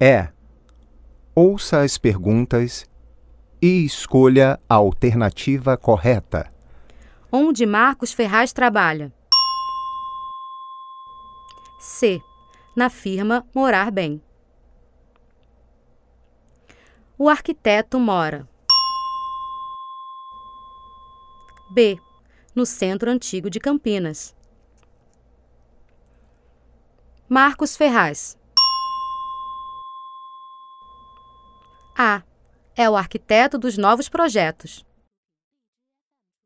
É. Ouça as perguntas e escolha a alternativa correta. Onde Marcos Ferraz trabalha? C. Na firma Morar Bem. O arquiteto mora. B. No Centro Antigo de Campinas. Marcos Ferraz. A. É o arquiteto dos novos projetos.